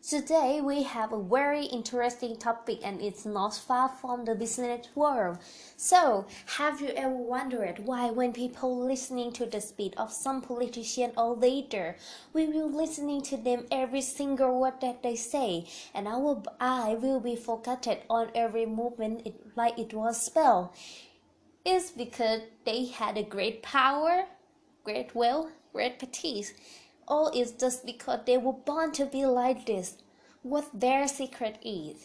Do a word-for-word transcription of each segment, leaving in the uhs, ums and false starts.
Today we have a very interesting topic and it's not far from the business world. So, have you ever wondered why when people listening to the speech of some politician or leader, we will listening to them every single word that they say and our eye will be focused on every movement it, like it was spell? It's because they had a great power, great wealth, great prestige. Or is just because they were born to be like this? What their secret is?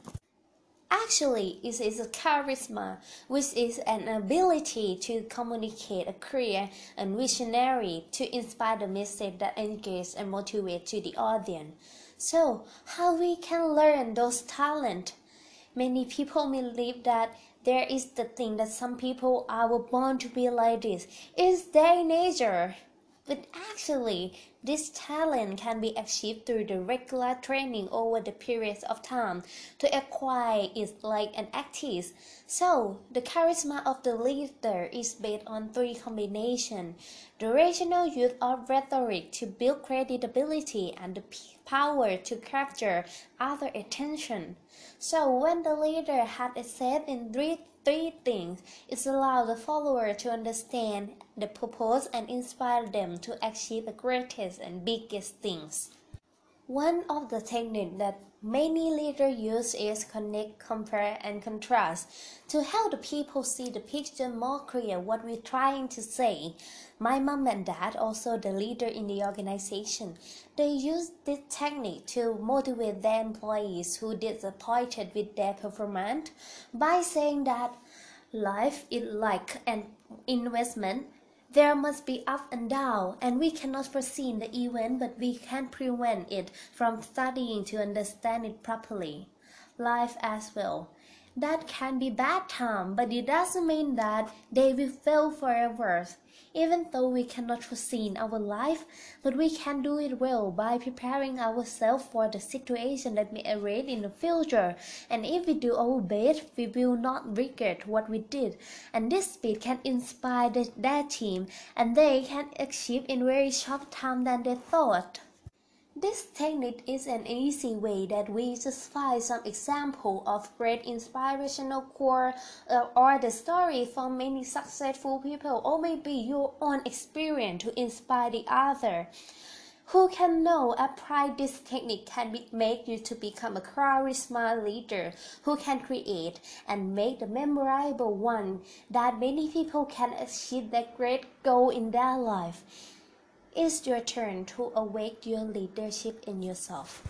Actually, it is a charisma, which is an ability to communicate a clear and visionary to inspire the message that engages and motivates to the audience. So, how we can learn those talents? Many people believe that there is the thing that some people are born to be like this. It's their nature. But actually, this talent can be achieved through the regular training over the periods of time to acquire it like an active. So, the charisma of the leader is based on three combinations: the rational use of rhetoric to build credibility and the power to capture other attention. So, when the leader has said in three Three things, it allows the follower to understand the purpose and inspire them to achieve the greatest and biggest things. One of the techniques that many leaders use is connect, compare, and contrast to help the people see the picture more clear what we're trying to say. My mom and dad, also the leader in the organization, they use this technique to motivate their employees who disappointed with their performance by saying that life is like an investment. There must be up and down, and we cannot foresee the event, but we can prevent it from studying to understand it properly. Life as well. That can be bad time, but it doesn't mean that they will fail forever. Even though we cannot foresee our life, but we can do it well by preparing ourselves for the situation that may arise in the future. And if we do our best, we will not regret what we did. And this speed can inspire the, their team, and they can achieve in very short time than they thought. This technique is an easy way that we just find some example of great inspirational quote uh, or the story from many successful people, or maybe your own experience to inspire the other. Who can know apply this technique can be, make you to become a charisma leader who can create and make the memorable one that many people can achieve their great goal in their life. It's your turn to awake your leadership in yourself.